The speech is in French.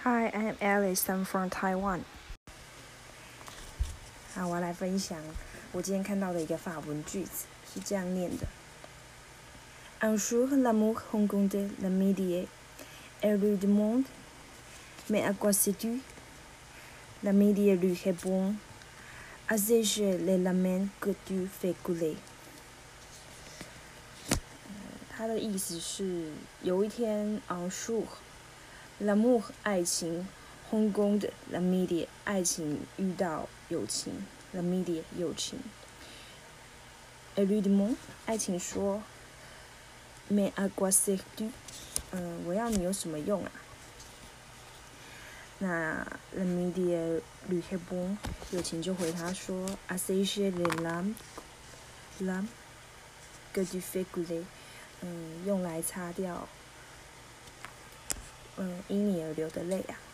Hi, I'm Alice. I'm from Taiwan. 好，我要来分享我今天看到的一个法文句子，是这样念的：Un jour, l'amour rencontre l'amitié, elle lui demande Mais à quoi sais-tu? L'amitié lui répond À sécher les larmes que tu fais couler. 它的意思是，有一天 ，un jour, l'amour 爱情 rencontre l'amitié 爱情遇到友情 l'amitié 友情 elle lui demande 爱情说 Mais à quoi sers-tu? 我要你有什么用啊？那 l'amitié lui répond 友情就回他说 À sécher les larmes que tu fais couler. 用来擦掉因你而流的泪啊。